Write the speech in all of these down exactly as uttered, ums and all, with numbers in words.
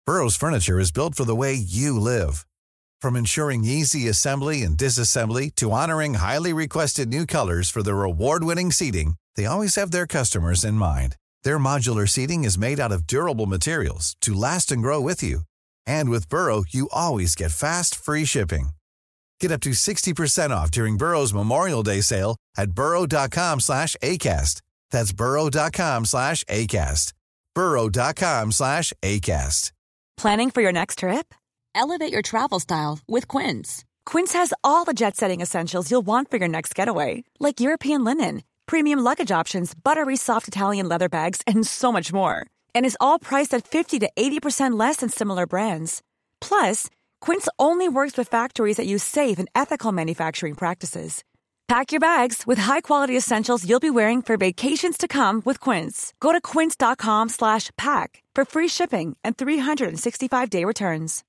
Burrow's furniture is built for the way you live. From ensuring easy assembly and disassembly to honoring highly requested new colors for their award-winning seating, they always have their customers in mind. Their modular seating is made out of durable materials to last and grow with you. And with Burrow, you always get fast, free shipping. Get up to sixty percent off during Burrow's Memorial Day sale at burrow.com slash ACAST. That's burrow.com slash ACAST. burrow.com slash ACAST. Planning for your next trip? Elevate your travel style with Quince. Quince has all the jet-setting essentials you'll want for your next getaway, like European linen, premium luggage options, buttery soft Italian leather bags, and so much more. And is all priced at fifty to eighty percent less than similar brands. Plus, Quince only works with factories that use safe and ethical manufacturing practices. Pack your bags with high-quality essentials you'll be wearing for vacations to come with Quince. Go to quince.com slash pack for free shipping and three sixty-five day returns.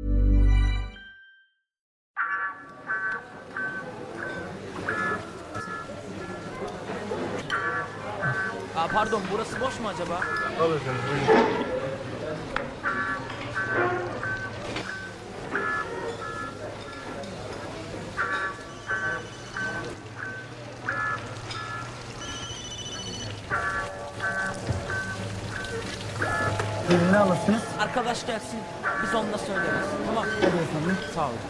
Aa, pardon, burası boş mu acaba? Olur efendim, buyurun. Buyurun, ne alırsınız? Arkadaş gelsin, biz onunla söyleriz. Tamam. Hadi efendim. Sağ olun.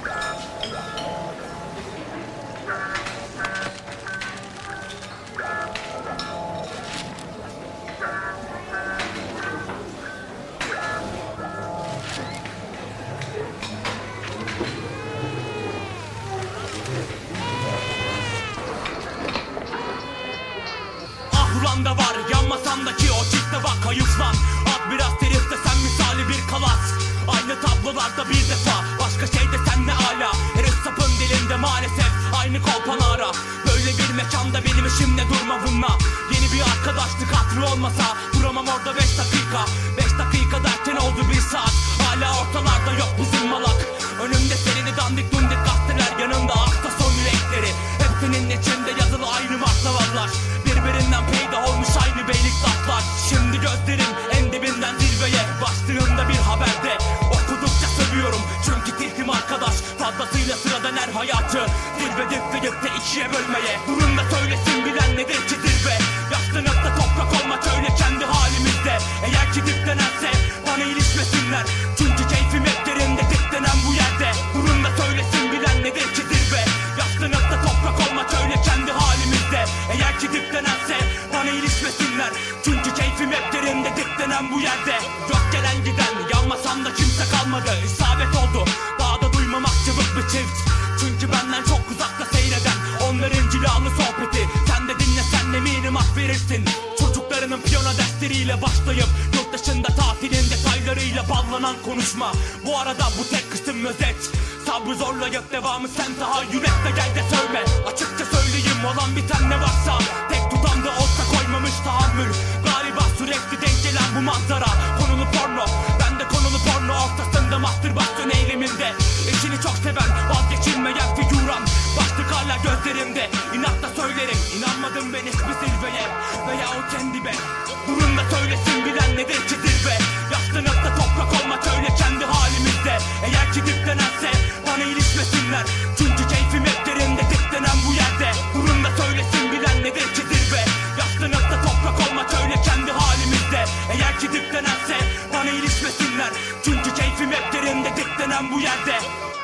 Da var yanmasandaki o çifte bak hayıflan. At biraz terif de sen misali bir kalas. Aynı tablolarda bir defa, başka şey de sen ne ala. Her sapın dilinde maalesef aynı kolpanara. Böyle bir mekanda benim işimle durma bununla. Yeni bir arkadaşlık hatırı olmasa duramam orada beş dakika. Beş dakika derken oldu bir saat. Hala ortalarda yok bizim malak. Önümde serini dandik dundik gazeteler, yanımda hafta son yürekleri. Hepsinin içinde yazılı aynı maklavallar. Birbirinden peydah olmuş aynı beylik laflar. Şimdi gözlerim en dibinden zirveye. Başlığında bir haberde okudukça sövüyorum. Çünkü tilkim arkadaş fazlasıyla sıradan her hayatı zirve dipte dipte ikiye bölmeye. Durun da söylesin bilen nedir ki zirve. Yaşlanıp da toprak olmak öyle kendi halimizde. Eğer ki diplenense bana ilişmesinler. Çünkü keyfim hep derinde diplenen bu yerde. Durun da söylesin bilen nedir ki zirve. Yaşlanıp da toprak olmak öyle kendi halimizde. Eğer ki diplenense bana ilişmesinler. Çünkü keyfim hep derinde diplenen bu yerde. Yok gelen giden yanmasam da kimse kalmadı. İsabet oldu daha da duymamak çabuk bir çift. Çünkü benden çok uzakta seyreden onların cilalı sohbeti. Sen de dinlesen eminim hak verirsin. Çocuklarının piyano dersleriyle başlayıp yurt dışında tatilin detaylarıyla ballanan konuşma. Bu arada bu tek kısım özet. Sabrı zorlayıp devamı sen tahayyül et de gel de söyle. Açıkça söyleyeyim olan biten ne varsa. Tek tutan da olsa koymamış tahammül. Galiba sürekli denk gelen bu manzara. Konulu porno, ben de konulu porno ortasında mastürbasyon eyleminde. Eşini çok seven, vazgeçilmeyen figüran. Başlık hala gözlerimde, inatla söylerim. İnanmadım ben hiçbir zirveye veya o kendime. Durun da söylesin bilen nedir ki zirve. Yaşlanıp da toprak olmak öyle kendi halimizde. Eğer ki diplenense bana ilişmesinler. Çünkü keyfim hep derinde diplenen bu yerde. Durun da söylesin bilen nedir ki zirve. Yaşlanıp da toprak olmak öyle kendi halimizde. Eğer ki diplenense bana ilişmesinler. Çünkü keyfim hep derinde diplenen bu yerde.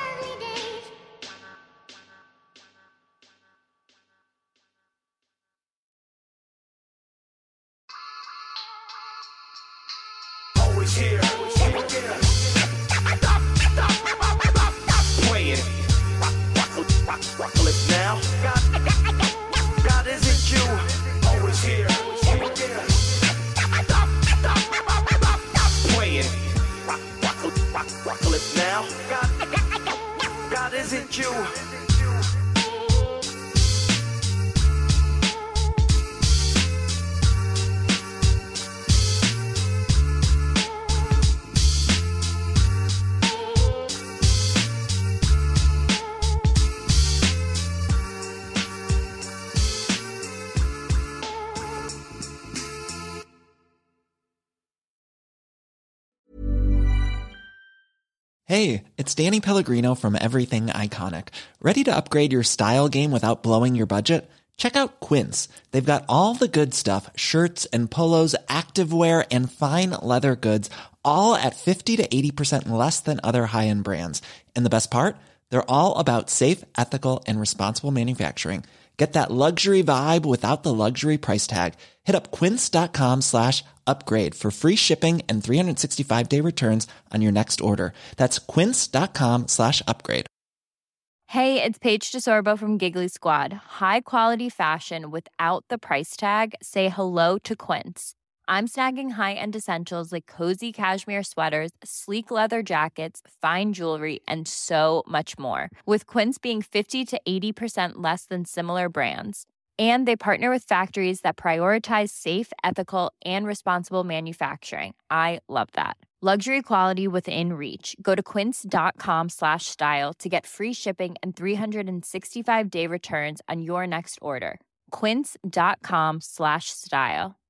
Always here, always here. Stop, stop, stop playing. Rock, rock, rock, rock, lips now. God, God, is it you? Always here, always here. Stop, stop, stop playing. Rock, rock, rock, rock, lips now. God, God, is it you? Hey, it's Danny Pellegrino from Everything Iconic. Ready to upgrade your style game without blowing your budget? Check out Quince. They've got all the good stuff, shirts and polos, activewear, and fine leather goods, all at fifty to eighty percent less than other high-end brands. And the best part? They're all about safe, ethical, and responsible manufacturing. Get that luxury vibe without the luxury price tag. Hit up quince.com slash upgrade for free shipping and three sixty-five day returns on your next order. That's quince.com slash upgrade. Hey, it's Paige DeSorbo from Giggly Squad. High quality fashion without the price tag. Say hello to Quince. I'm snagging high-end essentials like cozy cashmere sweaters, sleek leather jackets, fine jewelry, and so much more. With Quince being fifty to eighty percent less than similar brands. And they partner with factories that prioritize safe, ethical, and responsible manufacturing. I love that. Luxury quality within reach. Go to quince.com slash style to get free shipping and three sixty-five day returns on your next order. Quince.com slash style.